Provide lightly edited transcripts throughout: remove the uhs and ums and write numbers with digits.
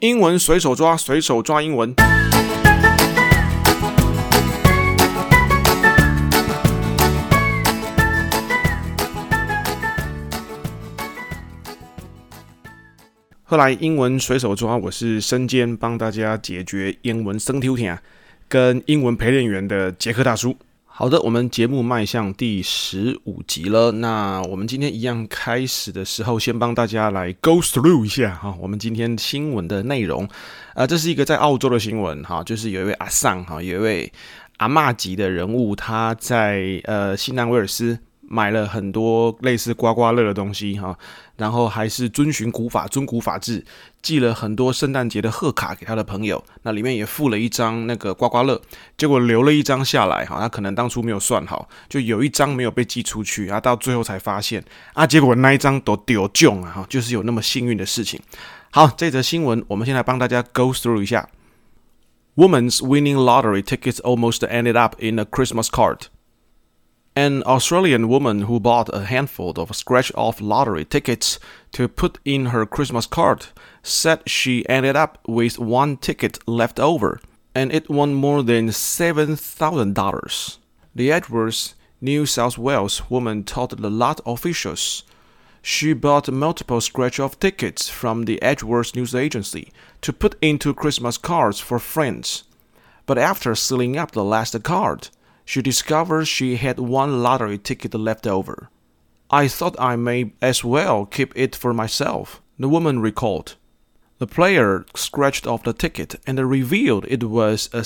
英文隨手抓，隨手抓英文。后來英文隨手抓，我是身兼幫大家解決英文生挑聽跟英文陪練員的傑克大叔。好的，我們節目邁向第15集了。那我們今天一樣開始的時候，先幫大家來 go through 一下哈，我們今天新聞的內容。這是一個在澳洲的新聞哈，就是有一位阿桑哈，有一位阿嬷級的人物，他在新南威爾斯買了很多類似刮刮樂的東西哈，然後還是遵循古法制，寄了很多聖誕節的賀卡給他的朋友，那裡面也附了一張那個刮刮樂，結果留了一張下來哈，他可能當初沒有算好，就有一張沒有被寄出去，到最後才發現結果那一張都丟中啊，就是有那麼幸運的事情。好，這則新聞我們先來幫大家 go through 一下。Woman's winning lottery tickets almost ended up in a Christmas card.An Australian woman who bought a handful of scratch-off lottery tickets to put in her Christmas card said she ended up with one ticket left over, and it won more than $7,000. The Edgeworth, New South Wales woman told the lot officials she bought multiple scratch-off tickets from the Edgeworth news agency to put into Christmas cards for friends. But after sealing up the last card,she discovered she had one lottery ticket left over. I thought I may as well keep it for myself, the woman recalled. The player scratched off the ticket and revealed it was a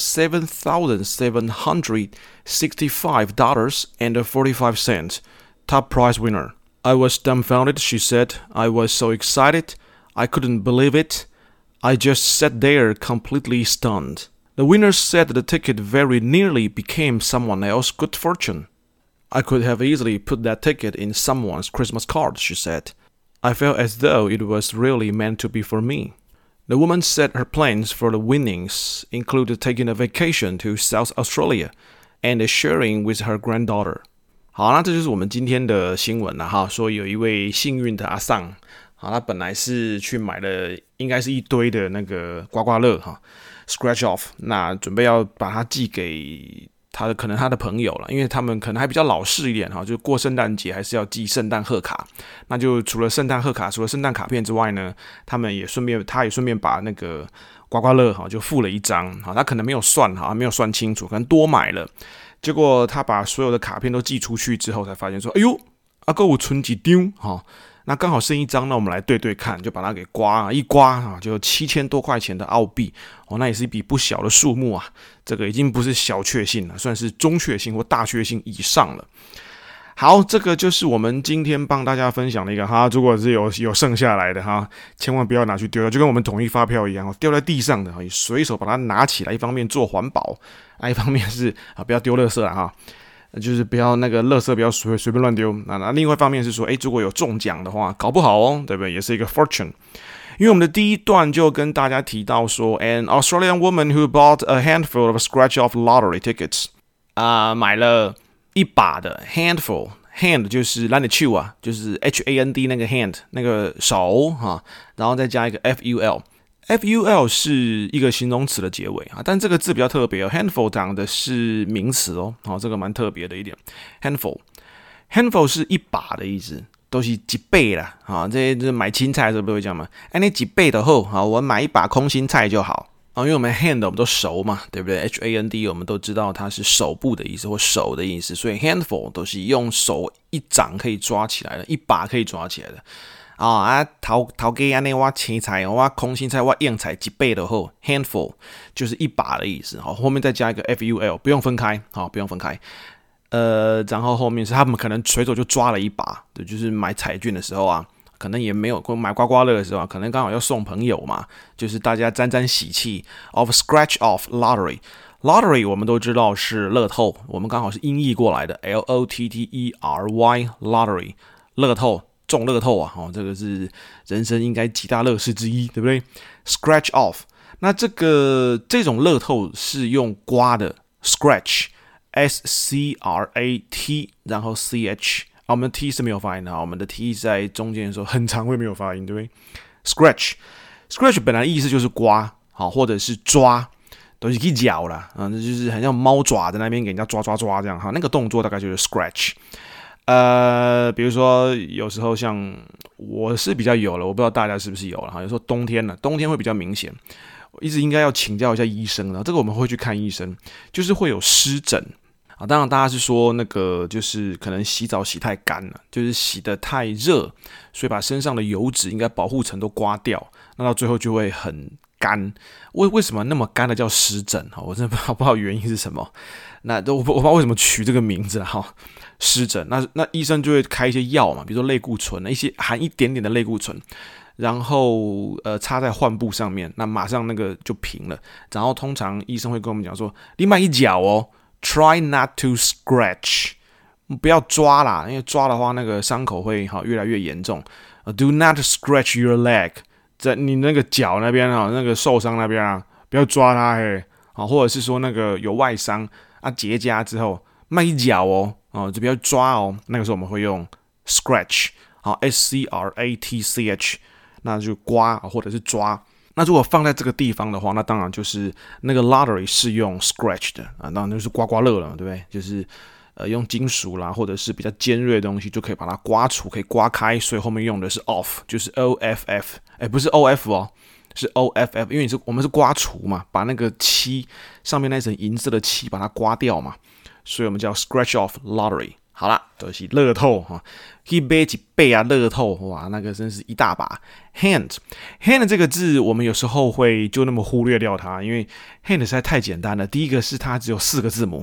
$7,765.45 top prize winner. I was dumbfounded, she said. I was so excited. I couldn't believe it. I just sat there completely stunned.The winner said the ticket very nearly became someone else's good fortune. I could have easily put that ticket in someone's Christmas card, she said. I felt as though it was really meant to be for me. The woman said her plans for the winnings included taking a vacation to South Australia and sharing with her granddaughter. 好，那這就是我們今天的新聞了哈，說有一位幸運的阿桑，好，他本來是去買了應該是一堆的那個刮刮樂哈。Scratch off， 那準備要把它寄給可能他的朋友了，因為他們可能還比較老式一點哈，就過聖誕節還是要寄聖誕賀卡。那就除了聖誕賀卡，除了聖誕卡片之外呢，他也順便把那個刮刮樂哈就附了一張哈，他可能沒有算哈，沒有算清楚，可能多買了。結果他把所有的卡片都寄出去之後，才發現說，哎呦，還有剩一張哈。那剛好剩一張，那我們來對對看，就把它給一刮就7000多塊錢的澳幣哦，那也是一筆不小的數目啊。這個已經不是小確幸了，算是中確幸或大確幸以上了。好，這個就是我們今天幫大家分享的一個哈，如果是有剩下來的哈，千萬不要拿去丟了，就跟我們統一發票一樣，掉在地上的，你隨手把它拿起來，一方面做環保，一方面是不要丟垃圾了哈。就是不要那個垃圾不要隨便亂丟。那另外一方面是說，如果有中獎的話，搞不好哦，對不對？也是一個 fortune。因為我們的第一段就跟大家提到說 ，an Australian woman who bought a handful of scratch-off lottery tickets， 買了一把的 handful。hand 就是咱的手啊，就是 hand 那個 hand 那個手哈，然後再加一個 ful。ful 是一個形容詞的結尾啊，但這個字比較特別哦。handful 講的是名詞哦，好，這個蠻特別的一點。handful 是一把的意思，都是幾倍啦啊。這買青菜的時候不會講嘛？你幾倍的後啊，我買一把空心菜就好啊，因為我們 hand 我們都熟嘛，對不對 ？hand 我們都知道它是手部的意思或手的意思，所以 handful 都是用手一掌可以抓起來的，一把可以抓起來的。頭家安尼我青菜我空心菜我硬菜一倍的後 handful 就是一把的意思，後面再加一個 ful 不用分開，不用分開。然後後面是他們可能隨手就抓了一把，對，就是買彩券的時候啊，可能也沒有買刮刮樂的時候，可能剛好要送朋友嘛，就是大家沾沾喜氣 of scratch off lottery。Lottery 我們都知道是樂透，我們剛好是音譯過來的 lottery lottery 樂透。中樂透啊，這個是人生應該幾大樂事之一，對不對 ？Scratch off， 那這種樂透是用刮的 ，scratch，S-C-R-A-T， 然後 C-H， 我們的 T 是沒有發音的，我們的 T 在中間的時候很常會沒有發音，對不對 ？Scratch Scratch 本來的意思就是刮，好，或者是抓，都是可以咬啦，那就是很像貓爪在那邊給人家抓這樣哈，那個動作大概就是 scratch。比如說有時候像我是比較有了，我不知道大家是不是有了哈。有時候冬天會比較明顯，我一直應該要請教一下醫生了。這個我們會去看醫生，就是會有濕疹啊。當然大家是說那個就是可能洗澡洗太乾了，就是洗得太熱，所以把身上的油脂應該保護層都刮掉，那到最後就會很乾。為什麼那麼乾的叫濕疹？我真的不知道原因是什麼。那我不知道為什麼取這個名字了哈。濕疹，那醫生就會開一些藥嘛，比如說類固醇，一些含一點點的類固醇，然後擦在患部上面，那馬上那個就平了。然後通常醫生會跟我們講說，你慢一腳哦 ，try not to scratch， 不要抓啦，因為抓的話那個傷口會越來越嚴重。Do not scratch your leg， 在你那個腳那邊那個受傷那邊啊，不要抓它或者是說那個有外傷啊結痂之後，慢一腳哦。就不要抓哦。那個時候我們會用 scratch， scratch， 那就刮或者是抓。那如果放在這個地方的話，那當然就是那個 lottery 是用 scratch 的啊，當然就是刮刮樂了，對不對？就是用金屬啦，或者是比較尖銳的東西就可以把它刮除，可以刮開，所以後面用的是 off， 就是 off， 不是 off 哦，是 off， 因為我們是刮除嘛，把那個漆上面那層銀色的漆把它刮掉嘛。所以我們叫 scratch off lottery。好啦，都是樂透哈，可以買一倍啊，樂透哇，那個真是一大把。hand 這個字，我們有時候會就那麼忽略掉它，因為 hand 實在太簡單了。第一個是它只有4個字母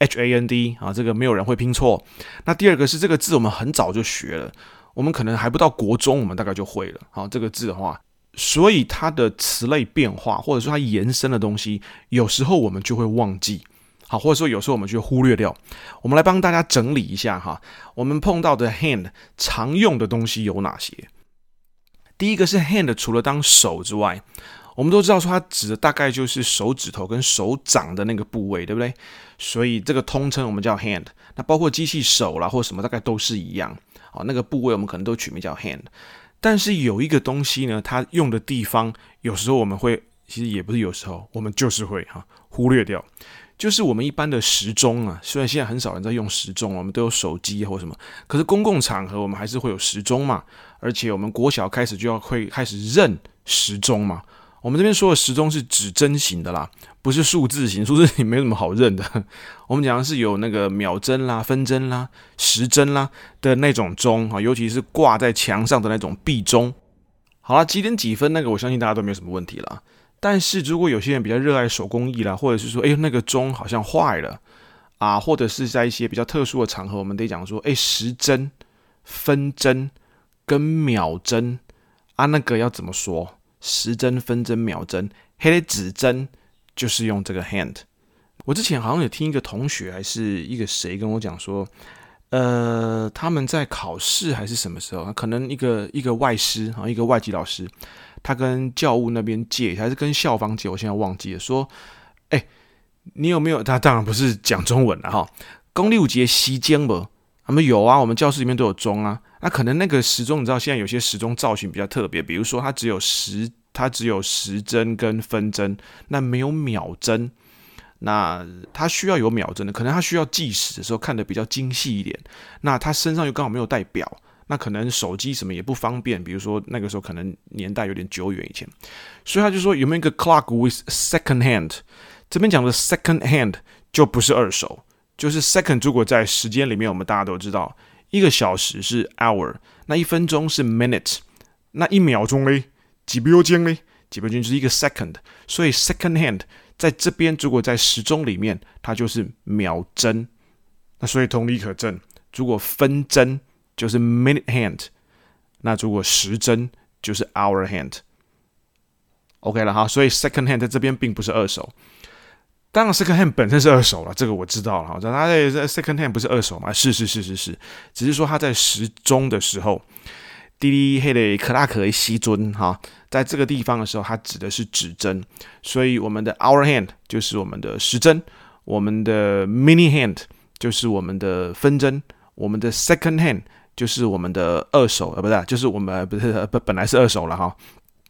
HAND 啊，這個沒有人會拼錯。那第二個是這個字我們很早就學了，我們可能還不到國中，我們大概就會了。好，這個字的話，所以它的詞類變化或者說它延伸的東西，有時候我們就會忘記。好，或者說有時候我們就忽略掉。我們來幫大家整理一下哈，我們碰到的 hand 常用的東西有哪些？第一個是 hand 除了當手之外，我們都知道說它指的大概就是手指頭跟手掌的那個部位，對不对？所以這個通稱我們叫 hand。那包括機器手啦或什麼大概都是一樣。好，那個部位我們可能都取名叫 hand。但是有一個東西呢，它用的地方有時候我們會，其實也不是有時候，我們就是會忽略掉。就是我們一般的時鐘啊，雖然現在很少人在用時鐘，我們都有手機或什麼，可是公共場合我們還是會有時鐘嘛。而且我們國小開始就會開始認時鐘嘛。我們這邊說的時鐘是指針型的啦，不是數字型，數字型沒什麼好認的。我們講的是有那個秒針啦、分針啦、時針啦的那種鐘，尤其是掛在牆上的那種壁鐘。好啦，幾點幾分那個，我相信大家都沒有什麼問題啦。但是如果有些人比較熱愛手工藝啦，或者是說，那個鐘好像壞了啊，或者是在一些比較特殊的場合，我們得講說，時針、分針跟秒針啊，那個要怎麼說？時針、分針、秒針，黑的指針就是用這個 hand。我之前好像有聽一個同學還是一個誰跟我講說，他們在考試還是什麼時候，可能一個外師啊，一個外籍老師。他跟教務那邊借，還是跟校方借？我現在忘記了。說，你有沒有？他當然不是講中文了哈。公歷五節時鐘不？他們有啊，我們教室裡面都有鐘啊。那可能那個時鐘，你知道現在有些時鐘造型比較特別，比如說它只有時針跟分針，那沒有秒針。那它需要有秒針的，可能它需要計時的時候看得比較精細一點。那它身上又剛好沒有帶表。那可能手機什麼也不方便，比如說那個時候可能年代有點久遠以前，所以他就說有沒有一個 clock with second hand？ 這邊講的 second hand 就不是二手，就是 second 如果在時間裡面，我們大家都知道，1個小時是 hour， 那1分鐘是 minute， 那1秒鐘嘞，幾秒鐘嘞，幾秒鐘就是1個 second， 所以 second hand 在這邊如果在時鐘裡面，它就是秒針。那所以同理可證，如果分針就是 minute hand， 那如果時針就是 hour hand。OK 了哈，所以 second hand 在這邊並不是二手。當然 second hand 本身是二手了，這個我知道了哈。它在 second hand 不是二手嘛？是，只是說它在時鐘的時候，滴黑的克拉克的西尊哈，在這個地方的時候，它指的是指針。所以我們的 hour hand 就是我們的時針，我們的 mini hand 就是我們的分針，我們的 second hand 就是我們的二手，不是，就是我們本來是二手了哈。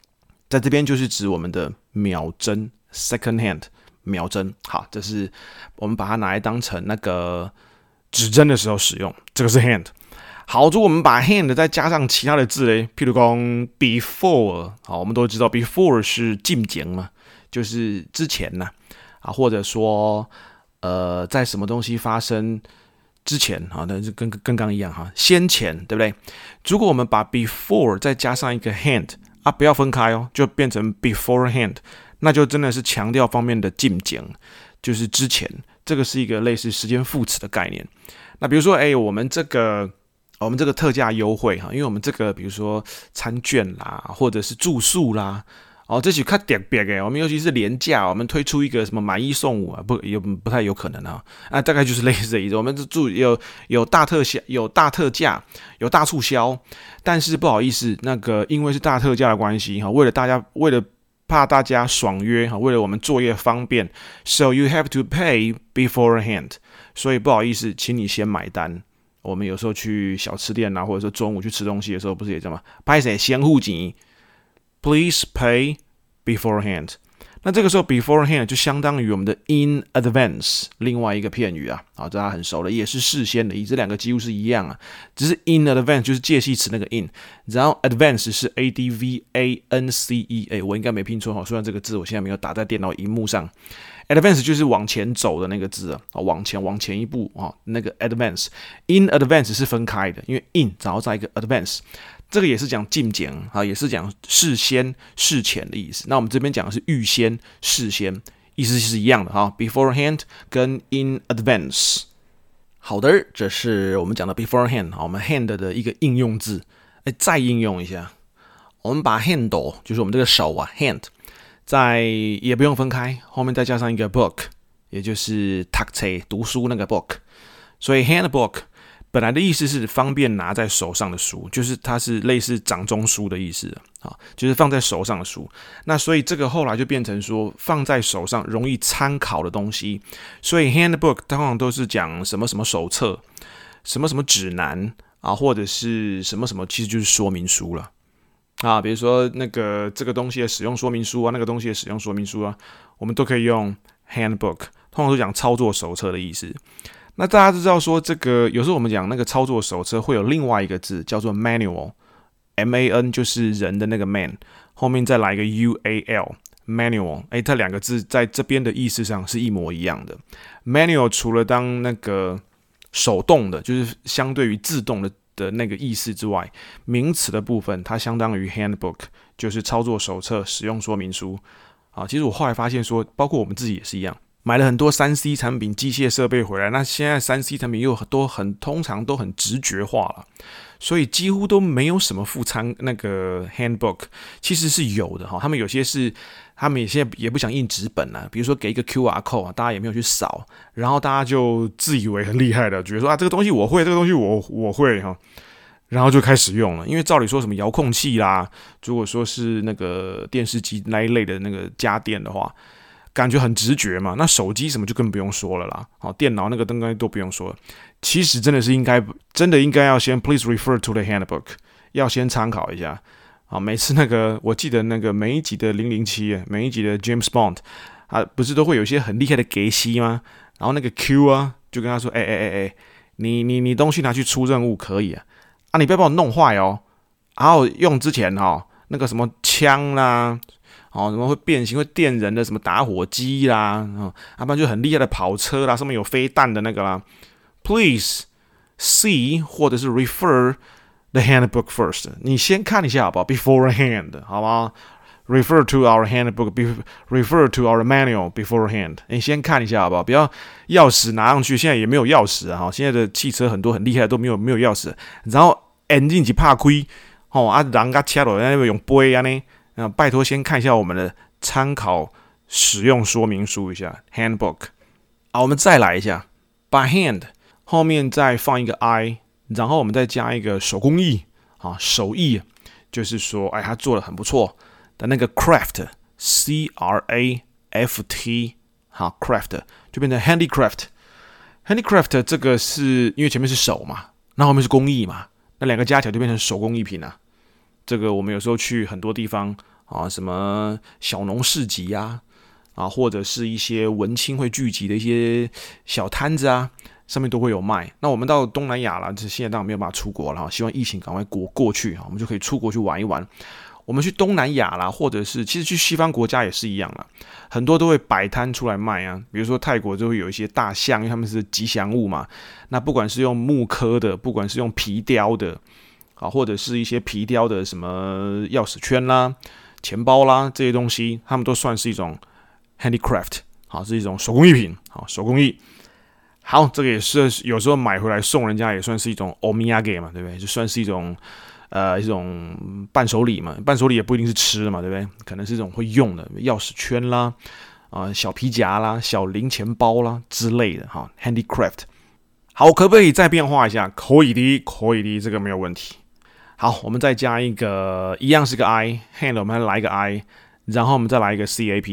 在這邊就是指我們的秒針 second hand 秒針。好，這是我們把它拿來當成那個指針的時候使用，這個是 hand。好，如果我們把 hand 再加上其他的字嘞，譬如講 before， 好，我們都知道 before 是進前嘛，就是之前吶，啊，或者說在什麼東西發生之前啊，那就跟剛剛一樣哈，先前，對不對？如果我們把 before 再加上一個 hand 啊，不要分開哦，就變成 beforehand， 那就真的是強調方面的進前，就是之前，這個是一個類似時間副詞的概念。那比如說，我們這個特價優惠哈，因為我們這個比如說餐券啦，或者是住宿啦，這是較特別的。我們尤其是連假，我們推出一個什麼買一送五啊，不太有可能啊。大概就是類似的意思。我們有大特價，有大促銷，但是不好意思，那個因為是大特價的關係哈，為了怕大家爽約哈，為了我們作業方便 ，so you have to pay beforehand。所以不好意思，請你先買單。我們有時候去小吃店啊，或者說中午去吃東西的時候，不是也這樣嗎？拍誰先付錢 ，Please pay beforehand。那這個時候 beforehand 就相當於我們的 in advance， 另外一個片語啊，大家很熟了，也是事先的意思，這兩個幾乎是一樣啊，只是 in advance 就是介系詞那個 in， 然後 advance 是 advance， 我應該沒拼錯哈，雖然這個字我現在沒有打在電腦螢幕上。Advance 就是往前走的那個字啊，往前一步啊，那個 advance。in advance 是分開的，因為 in 然後再一個 advance， 這個也是講進前啊，也是講事先、事前的意思。那我們這邊講的是預先、事先，意思是一樣的哈。beforehand 跟 in advance。好的，這是我們講的 beforehand， 我們 hand 的一個應用字。再應用一下，我們把 handle 就是我們這個手啊 hand。也不用分開，後面再加上一個 book， 也就是讀書那個 book， 所以 handbook 本來的意思是方便拿在手上的書，就是它是類似掌中書的意思啊，就是放在手上的書。那所以這個後來就變成說放在手上容易參考的東西，所以 handbook 通常都是講什麼什麼手冊、什麼什麼指南啊，或者是什麼什麼，其實就是說明書了。啊，比如說那個這個東西的使用說明書啊，那個東西的使用說明書啊，我們都可以用 handbook， 通常都講操作手冊的意思。那大家都知道說，這個有時候我們講那個操作手冊會有另外一個字叫做 manual，M-A-N 就是人的那個 man， 後面再來一個 U-A-L，manual， 這兩個字在這邊的意思上是一模一樣的。manual 除了當那個手動的，就是相對於自動的那個意思之外，名詞的部分它相當於 handbook， 就是操作手冊、使用說明書啊。其實我後來發現說，包括我們自己也是一樣，買了很多 3C 產品、機械設備回來，那現在 3C 產品又通常都很直覺化了，所以幾乎都沒有什麼附參那個 handbook， 其實是有的哈。他們有些是他們现在也不想印紙本啊，比如說給一個 QR code 啊，大家也沒有去掃，然後大家就自以為很厲害的，覺得說這個東西我會，這個東西我會哈，然後就開始用了。因為照理說什麼遙控器啦，如果說是那個電視機那一類的那個家電的話，感覺很直覺嘛。那手機什麼就更不用說了啦，好，電腦那個東西都不用說了。其實真的應該要先 please refer to the handbook， 要先參考一下。好，每次我記得那個每一集的007，每一集的 James Bond， 不是都會有一些很厲害的給息嗎？然後那個 Q 啊，就跟他說，你東西拿去出任務可以啊，你不要把我弄壞哦。然後用之前那個什麼槍啦，什麼會變形會電人的什麼打火機啦，不然就很厲害的跑車啦，上面有飛彈的那個啦。Please see 或者是 refer the handbook first， 你先看一下好不好 ？beforehand， 好嗎 ？Refer to our handbook， refer to our manual beforehand。你先看一下好不好？不要鑰匙拿上去，現在也沒有鑰匙啊！現在的汽車很多很厲害的都沒有鑰匙，然後 engine 一拍開，人家車落在那邊用杯啊呢，拜託先看一下我們的參考使用說明書一下 handbook。我們再來一下，把 hand 後面再放一個 I。然後我們再加一個手工藝手藝，就是說，他做得很不錯的那個 craft， C-R-A-F-T， craft 就變成 handicraft。handicraft 這個是因為前面是手嘛，那後面是工藝嘛，那兩個加起來就變成手工藝品啊。這個我們有時候去很多地方啊，什麼小農市集啊，或者是一些文青會聚集的一些小攤子啊，上面都會有賣。那我們到東南亞啦，這現在當然沒有辦法出國了，希望疫情趕快過去，我們就可以出國去玩一玩。我們去東南亞啦，或者是其實去西方國家也是一樣啦，很多都會擺攤出來賣啊。比如說泰國就會有一些大象，因為他們是吉祥物嘛。那不管是用木刻的，不管是用皮雕的，或者是一些皮雕的什麼鑰匙圈啦、錢包啦這些東西，他們都算是一種 handicraft， 是一種手工藝品，手工藝。好，這個也是有時候買回來送人家，也算是一種 omiyage 嘛，對不對？就算是一種伴手禮嘛，伴手禮也不一定是吃的嘛，對不对？可能是一種會用的鑰匙圈啦，小皮夾啦、小零錢包啦之類的哈 ，handicraft。好，可不可以再變化一下？可以的，這個沒有問題。好，我們再加一個，一樣是個 I，hand 我們來一個 I， 然後我們再來一個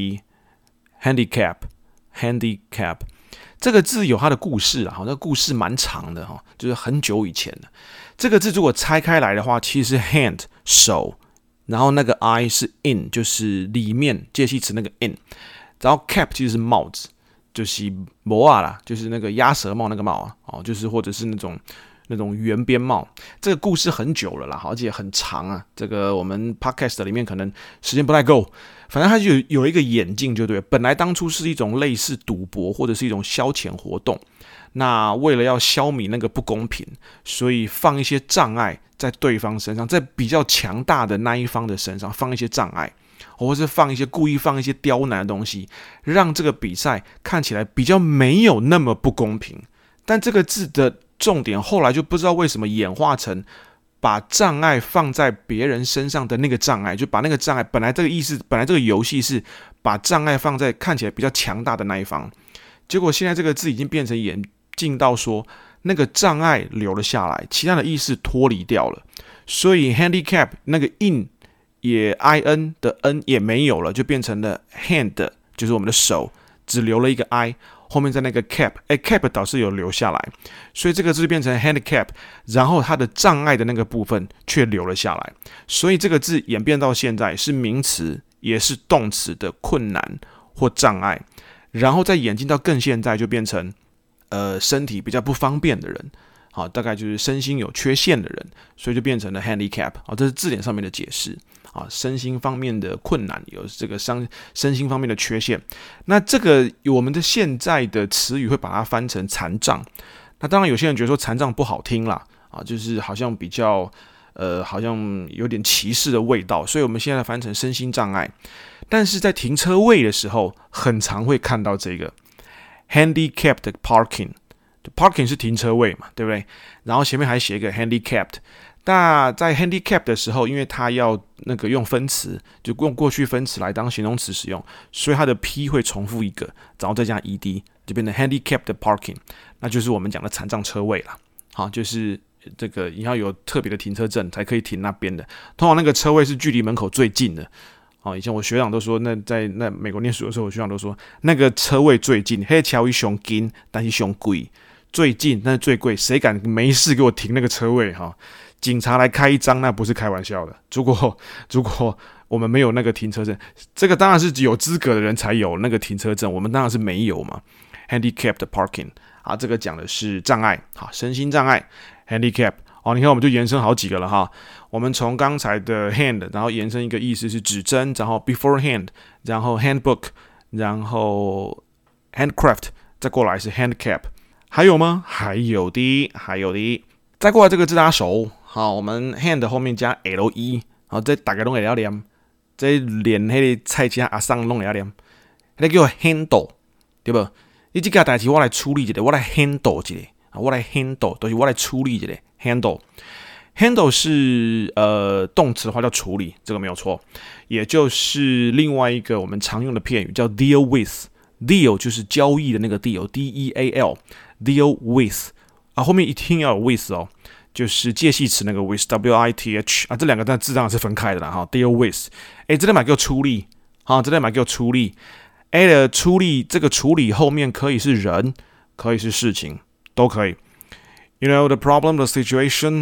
cap，handicap。這個字有它的故事啊，那個故事蠻長的哈，就是很久以前的。這個字如果拆開來的話，其實是 hand 手，然後那個 I 是 in， 就是裡面介系詞那個 in， 然後 cap 其實是帽子，就是帽啊啦，就是那個鴨舌帽那個帽啊，就是或者是那種圓邊帽。這個故事很久了啦，而且很長啊。這個我們 podcast 裡面可能時間不太夠。反正它就有一個眼鏡，就對了。本來當初是一種類似賭博或者是一種消遣活動，那為了要消弭那個不公平，所以放一些障礙在對方身上，在比較強大的那一方的身上放一些障礙，或是故意放一些刁難的東西，讓這個比賽看起來比較沒有那麼不公平。但這個字的重點後來就不知道為什麼演化成把障礙放在別人身上的那個障礙，就把那個障礙，本來這個遊戲是把障礙放在看起来比較強大的那一方，結果現在這個字已經變成演進到說那個障礙留了下來，其他的意思脫離掉了，所以 handicap 那個 in 也 in 的 n 也沒有了，就變成了 hand， 就是我們的手，只留了一個 i。後面在那個 cap 倒是有留下來，所以這個字變成 handicap， 然後它的障礙的那個部分卻留了下來，所以這個字演變到現在是名詞也是動詞的困難或障礙，然後再演進到更現在就變成身體比較不方便的人，好，大概就是身心有缺陷的人，所以就变成了 handicap， 好，这是字典上面的解釋。啊，身心方面的困難，有這個身心方面的缺陷。那這個我們的現在的詞語會把它翻成殘障。那當然有些人覺得說殘障不好聽啦，就是好像比較好像有點歧視的味道，所以我們現在翻成身心障礙。但是在停車位的時候，很常會看到這個 handicapped parking。parking 是停車位嘛，對不對？然後前面還寫一個 handicapped。那在 handicap 的時候，因為它要那個用分詞，就用過去分詞來當形容詞使用，所以它的 P 會重複一個，然後再加 ed， 就變成 handicapped parking， 那就是我們講的殘障車位啦。好，就是這個你要有特別的停車證才可以停那邊的，通常那個車位是距離門口最近的。以前我學長都說，在美國念書的時候，我學長都說那個車位最近，黑橋一熊近，但是熊貴，最近但是最貴，誰敢沒事給我停那個車位哈？警察來開一張，那不是開玩笑的。如果我們沒有那個停車證，這個當然是有資格的人才有那個停車證，我們當然是沒有嘛。Handicapped parking， 啊，這個講的是障礙，好，身心障礙 ，handicap。你看我們就延伸好幾個了哈。我們從剛才的 hand， 然後延伸一個意思是指針，然後 beforehand， 然後 handbook， 然後 handcraft， 再過來是 handicap。還有嗎？還有的。再過來這個字大家熟。好，我們 hand 後面加 le， 好，這大家攏會了念，這連那個菜雞阿桑攏會了念，那叫 handle， 對不？你這個代志我來處理一下，我來 handle 一下，我來 handle， 就是我來處理一下 handle。handle 是動詞的話叫處理，這個沒有錯，也就是另外一個我們常用的片語叫 deal with，deal 就是交易的那個 deal，deal with 啊，後面一定要有 with 哦。就是介系詞那個 with，with 啊，這兩個字當然是分開的啦哈。deal with， 這裡買給我出力，這裡買給我出力。的出力，這個處理後面可以是人，可以是事情，都可以。You know the problem, the situation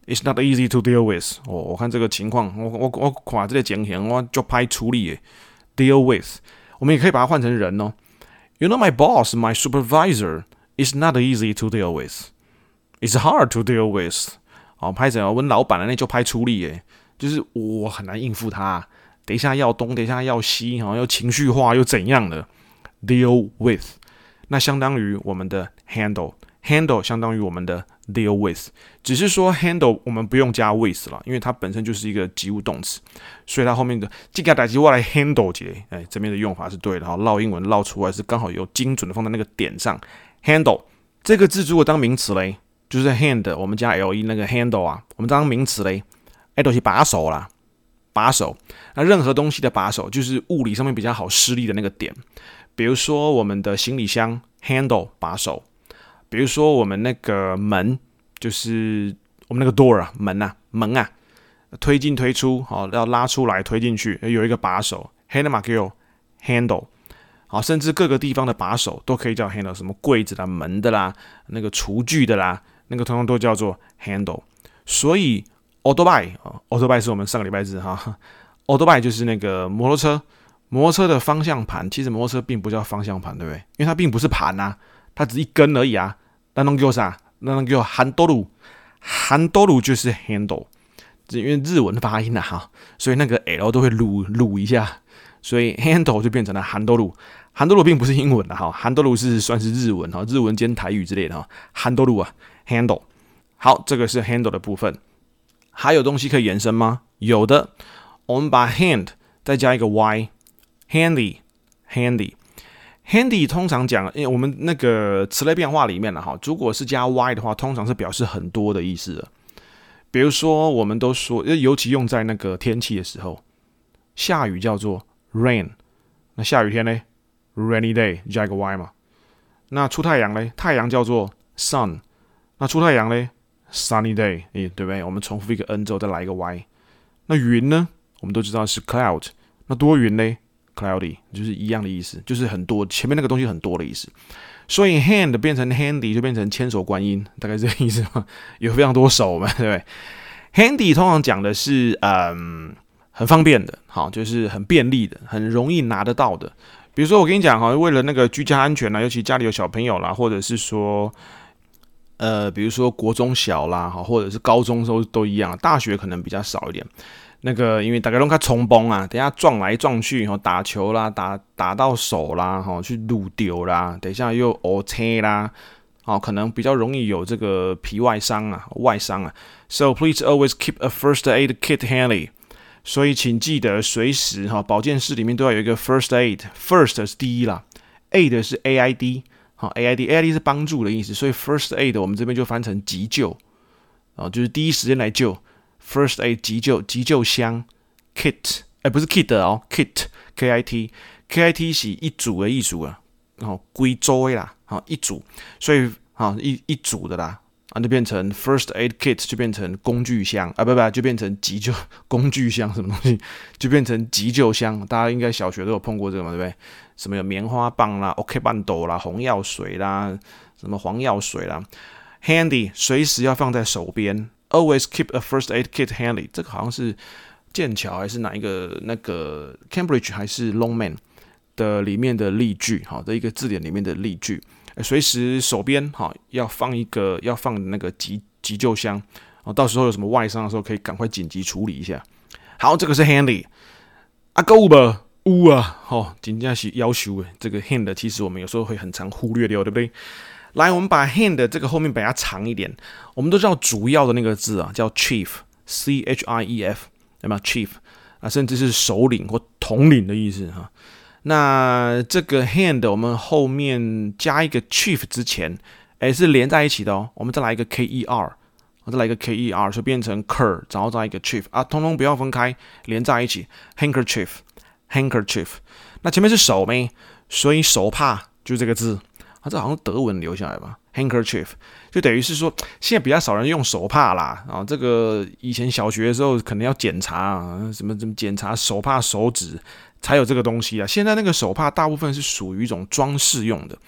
It's not easy to deal with。我看這個情況，我看這個情形，我就歹處理的。Deal with， 我們也可以把它換成人哦。You know my boss, my supervisor is not easy to deal with. It's hard to deal with。拍成我老闆那就歹處理誒，就是我很難應付他。等一下要東，等一下要西，又情緒化又怎樣的 ？Deal with， 那相當於我們的 handle 相當於我們的 deal with， 只是說 handle 我們不用加 with 了，因為它本身就是一個及物動詞，所以它後面的這個代誌我來 handle 一下，這邊的用法是對的，烙英文烙出來是剛好有精準的放在那個點上。handle 這個字如果當名詞嘞，就是 hand 我們加 le 那個 handle 啊，我們當名詞嘞，就是把手啦。把手，那任何東西的把手就是物理上面比較好施力的那個點，比如說我們的行李箱 handle 把手，比如說我們那個門，就是我們那個 door 啊，門啊，推進推出，要拉出來推進去，有一個把手 handle， 甚至各個地方的把手都可以叫 handle， 什麼櫃子啦、門的啦、那個廚具的啦，那個通通都叫做 handle， 所以。Autobike 是我們上個禮拜日哈 ，Autobike 就是那個摩托車的方向盤。其實摩托車並不叫方向盤，對不對？因為它並不是盤啊，它只是一根而已啊。那能叫啥？那能叫handle，handle就是 handle， 因為日文發音啊哈，所以那個 L 都會擼一下，所以 handle 就變成了 handle。handle 並不是英文的哈 ，handle 是算是日文哈，日文兼台語之類的哈。handle 啊 ，handle。好，這個是 handle 的部分。還有東西可以延伸嗎？有的，我們把 hand 再加一個 y，handy。handy 通常講，因為我們那個詞類變化裡面哈，如果是加 y 的話，通常是表示很多的意思的。比如說，我們都說，尤其用在那個天氣的時候，下雨叫做 rain， 那下雨天呢 ，rainy day 加一個 y 嘛。那出太陽呢，太陽叫做 sun， 那出太陽呢？ Sunny day， 對不對？我們重複一個 n 之後再來一個 y。那雲呢？我們都知道是 cloud。那多雲呢 ？Cloudy， 就是一樣的意思，就是很多，前面那個東西很多的意思。所以 hand 變成 handy 就變成千手觀音，大概這個意思嘛。有非常多手嘛，對不對 ？Handy 通常講的是很方便的，好，就是很便利的，很容易拿得到的。比如說我跟你講哈，為了那個居家安全啦，尤其家裡有小朋友啦，或者是說。比如說國中小啦，或者是高中都一樣，大學可能比較少一點。那個因為大家都看衝崩啊，等一下撞來撞去，打球啦，打到手啦，去擼丟啦，等一下又烏青啦，可能比較容易有這個皮外傷啊、外傷啊。So please always keep a first aid kit handy。所以請記得隨時保健室裡面都要有一個 first aid。First 是第一啦 ，aid 是 AID。好 ，AID 是幫助的意思，所以 first aid 我們這邊就翻成急救，就是第一時間來救 ，first aid 急救箱 ，kit， 不是 kit 哦 ，kit，kit 是一組的意思啊，歸組的啦，一組，所以一組的啦，就變成 first aid kit 就變成工具箱啊，不，就變成急救工具箱什麼東西，就變成急救箱，大家應該小學都有碰過這個嘛，對不對？什麼有棉花棒啦、OK 棒斗啦、紅藥水啦、什麼黃藥水啦 ，handy 隨時要放在手邊 ，always keep a first aid kit handy。這個好像是劍橋還是哪一個那個 Cambridge 還是 Longman 的裡面的例句，好的一個字典裡面的例句，隨時手邊要放那個急救箱，到時候有什麼外傷的時候可以趕快緊急處理一下。好，這個是 handy。夠吧？有啊，真的是要求的。這個 hand 其實我們有時候會很常忽略掉，對不對？來，我們把 hand 這個後面把它長一點。我們都知道主要的那個字啊，叫 chief，C-H-I-E-F， 對嗎 ？chief 啊，甚至是首領或統領的意思哈。那這個 hand 我們後面加一個 chief 之前，是連在一起的哦。我們再來一個 K-E-R， 再來一個 K-E-R， 就變成 ker， 然後再一個 chief 啊，通通不要分開，連在一起 ，handkerchief。那前面是手沒，所以手帕就是這個字啊，這好像德文留下來吧 ，handkerchief 就等於是說，現在比較少人用手帕啦啊，這個以前小學的時候可能要檢查什麼檢查手帕手指才有這個東西啊，現在那個手帕大部分是屬於一種裝飾用的，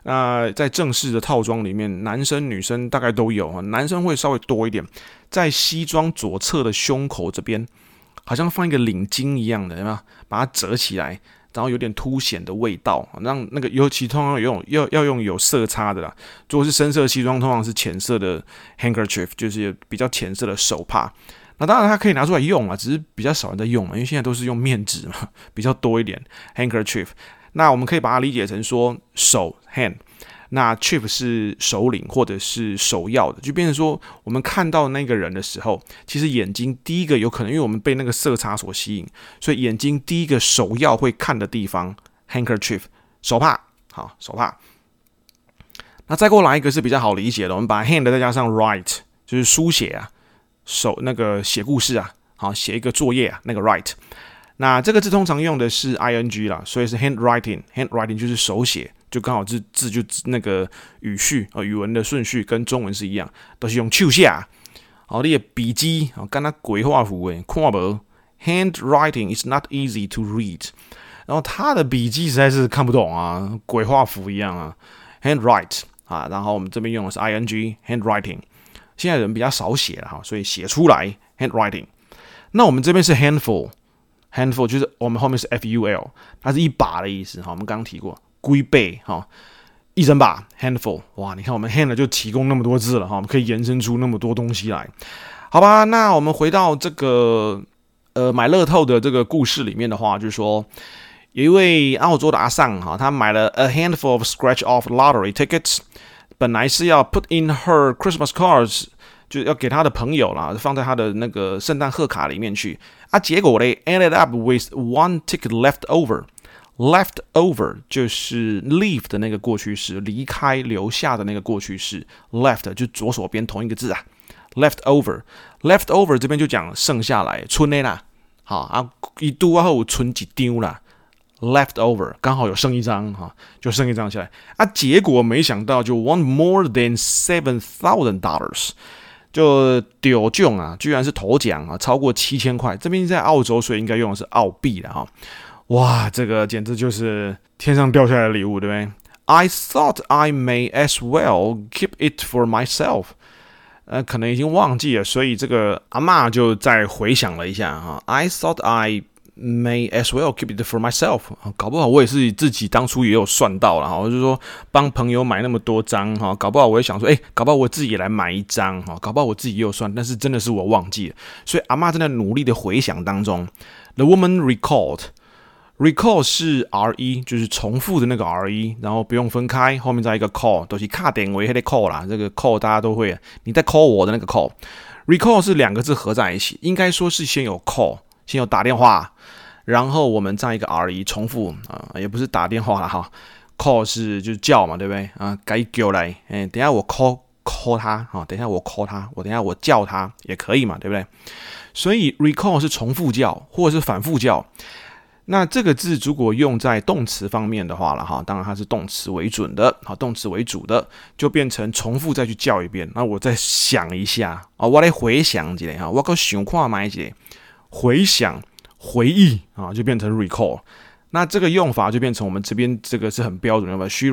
那在正式的套裝裡面，男生女生大概都有，男生會稍微多一點，在西裝左側的胸口這邊，好像放一個領巾一樣的，有沒有？把它折起來，然後有點凸顯的味道，讓那個尤其通常要用有色差的啦。如果是深色西裝，通常是淺色的 handkerchief， 就是比較淺色的手帕。那當然它可以拿出來用啊，只是比較少人在用嘛，因為現在都是用面紙嘛，比較多一點 handkerchief。那我們可以把它理解成說手 hand， 那 chief 是首領或者是首要的，就變成說我們看到那個人的時候，其實眼睛第一個有可能，因為我們被那個色差所吸引，所以眼睛第一個首要會看的地方 handkerchief 手帕，好手帕。那再過來一個是比較好理解的，我們把 hand 再加上 write， 就是書寫啊，手那個寫故事啊，好寫一個作業啊，那個 write。那這個字通常用的是 ing 啦，所以是 handwriting 就是手寫，就剛好字就那個語序語文的順序跟中文是一樣，都是用手寫。好，你的筆記跟他鬼畫符誒，看不 handwriting is not easy to read， 然後他的筆記實在是看不懂啊，鬼畫符一樣啊 handwrite 啊，然後我們這邊用的是 ing handwriting， 現在人比較少寫了哈，所以寫出來 handwriting。那我們這邊是 handful 就是我們後面是 ful， 它是一把的意思哈。我們剛剛提過，龜背哈，一整把 handful。哇，你看我們 hand 就提供那麼多字了哈，我們可以延伸出那麼多東西來，好吧？那我們回到這個買樂透的這個故事裡面的話，就是說有一位澳洲的阿桑哈，他買了 a handful of scratch-off lottery tickets， 本來是要 put in her Christmas cards。就要給他的朋友啦，放在他的那個聖誕賀卡裡面去啊。結果嘞 ，ended up with one ticket left over。left over 就是 leave 的那個過去式，離開、留下的那個過去式。left 就左手邊同一個字啊。left over 這邊就講剩下來，剩的啦。好啊，一度啊後存幾張啦。left over 剛好有剩一張哈，就剩一張下來啊。結果沒想到就 won more than $7,000。就丟獎啊，居然是頭獎啊，超過7000塊。這邊在澳洲，所以應該用的是澳幣了哈。哇，這個簡直就是天上掉下來的禮物，對不對 ？I thought I may as well keep it for myself。可能已經忘記了，所以這個阿嬷就再回想了一下哈。I thought I may as well keep it for myself， 搞不好我也是自己當初也有算到了哈，我就說幫朋友買那麼多張哈，搞不好我也想說，搞不好我自己也來買一張哈，搞不好我自己也有算，但是真的是我忘記了，所以阿嬷正在努力的回想當中。The woman recall 是 re， 就是重複的那個 re， 然後不用分開，後面再一個 call， 都是卡點位還得 call 啦，這個 call 大家都會，你在 call 我的那個 call，recall 是兩個字合在一起，應該說是先有 call。先有打電話，然後我們再一個 re 重複也不是打電話了哈 ，call 是就是叫嘛，對不對啊？該叫來，等一下我 call 他哈，等一下我 call 他，等一下我叫他也可以嘛，對不對？所以 recall 是重複叫或者是反復叫。那這個字如果用在動詞方面的話了哈，當然它是動詞為準的，好，動詞为主的，就變成重複再去叫一遍。那我再想一下啊，我來回想一下哈，我再想看買一下。回想、回憶啊，就變成 recall。那這個用法就變成我們這邊這個是很標準的用法。She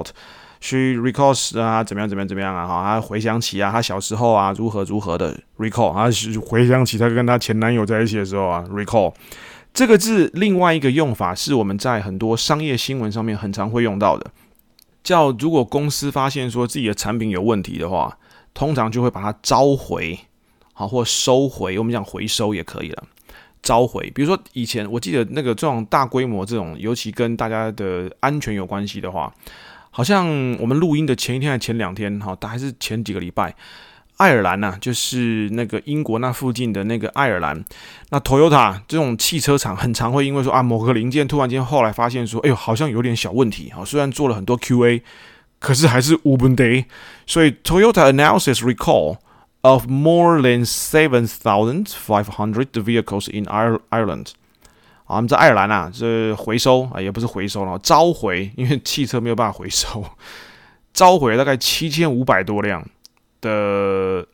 recalls 啊，怎麼樣啊？哈，她回想起啊，她小時候啊，如何的 recall。她回想起她跟她前男友在一起的時候啊 ，recall。這個字另外一個用法是我們在很多商業新聞上面很常會用到的，叫如果公司發現說自己的產品有問題的話，通常就會把它召回，好，或收回。我們講回收也可以了。召回，比如說以前我記得那個這種大規模這種，尤其跟大家的安全有關係的話，好像我們錄音的前一天還前2天，哈，還是前幾個禮拜，愛爾蘭吶，就是那個英國那附近的那個愛爾蘭，那 Toyota 這種汽車廠很常會因為說某個零件突然間後來發現說，好像有點小問題，雖然做了很多 QA， 可是還是無問題，所以 Toyota announces recall of more than 7,500 vehicles in Ireland。我們在愛爾蘭啊，這回收也不是回收了，召回，因為汽車沒有辦法回收，召回大概7500多輛的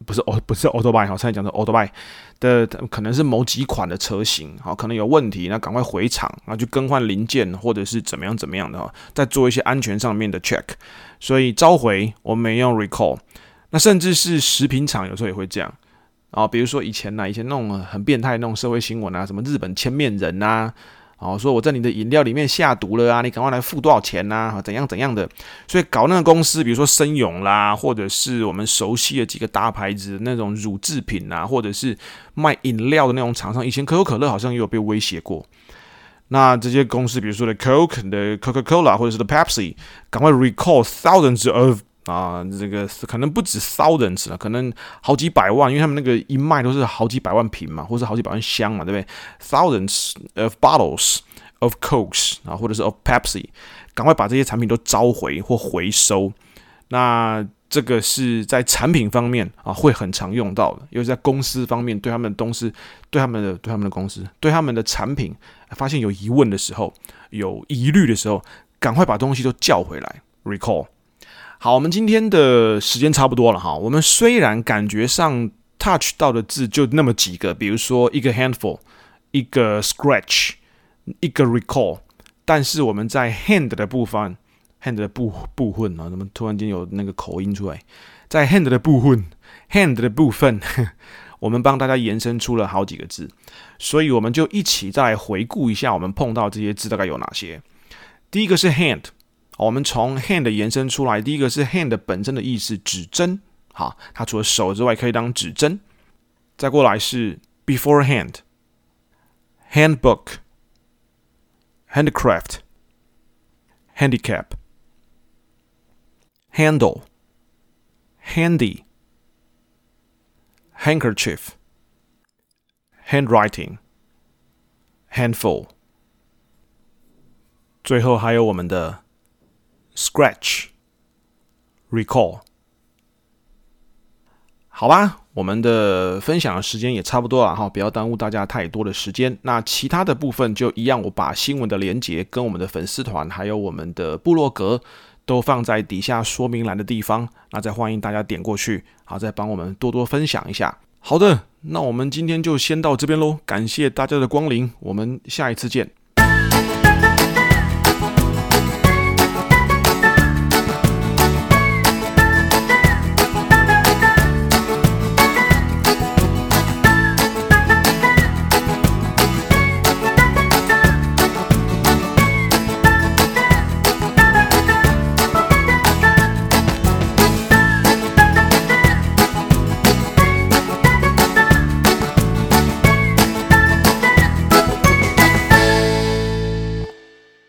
不是 Autobike 哈，才講的 Autobike 的可能是某幾款的車型，好，可能有問題，那趕快回廠，然後去更換零件或者是怎麼樣的哈，再做一些安全上面的 check。所以召回我們沒用 recall， 那甚至是食品廠有時候也會這樣。啊，比如說以前那種很變態的那種社會新聞啊，什麼日本千面人啊，說我在你的飲料裡面下毒了啊，你趕快來付多少錢啊，怎樣的。所以搞那個公司，比如說森永啦，或者是我們熟悉的幾個大牌子的那種乳製品啊，或者是賣飲料的那種廠商，以前可口可樂好像也有被威脅過。那這些公司，比如說的 Coke 的 Coca-Cola 或者是的 Pepsi， 趕快 recall thousands of。這個可能不止 thousands 了，可能好幾百萬，因為他們那個一賣都是好幾百萬瓶嘛，或是好幾百萬箱嘛，對不對 ？Thousands of bottles of Cokes 啊，或者是 of Pepsi， 趕快把這些產品都召回或回收。那這個是在產品方面啊，會很常用到的，尤其在公司方面，对他們的公司、对他們的公司、對他們的產品，發現有疑問的時候、有疑慮的時候，趕快把東西都叫回來 ，recall。好，我們今天的時間差不多了哈。我們雖然感覺上 touch 到的字就那麼幾個，比如說一個 handful， 一個 scratch， 一個 recall， 但是我們在 hand 的部分 ，hand 的部分啊，怎麼突然間有那個口音出來？在 hand 的部分，我們幫大家延伸出了好幾個字，所以我們就一起再來回顧一下我們碰到這些字大概有哪些。第一個是 hand。我們從 hand 延伸出來，第一個是 hand 本身的意思，指針。好，它除了手之外，可以當指針。再過來是 beforehand、handbook、handicraft、handicap、handle、handy、handkerchief、handwriting、handful。最後還有我們的Scratch, recall， 好吧，我們的分享的時間也差不多了哈，不要耽誤大家太多的時間。那其他的部分就一樣，我把新聞的連結跟我們的粉絲團還有我們的部落格都放在底下說明欄的地方，那再歡迎大家點過去，好，再幫我們多多分享一下。好的，那我們今天就先到這邊嘍，感謝大家的光臨，我們下一次見。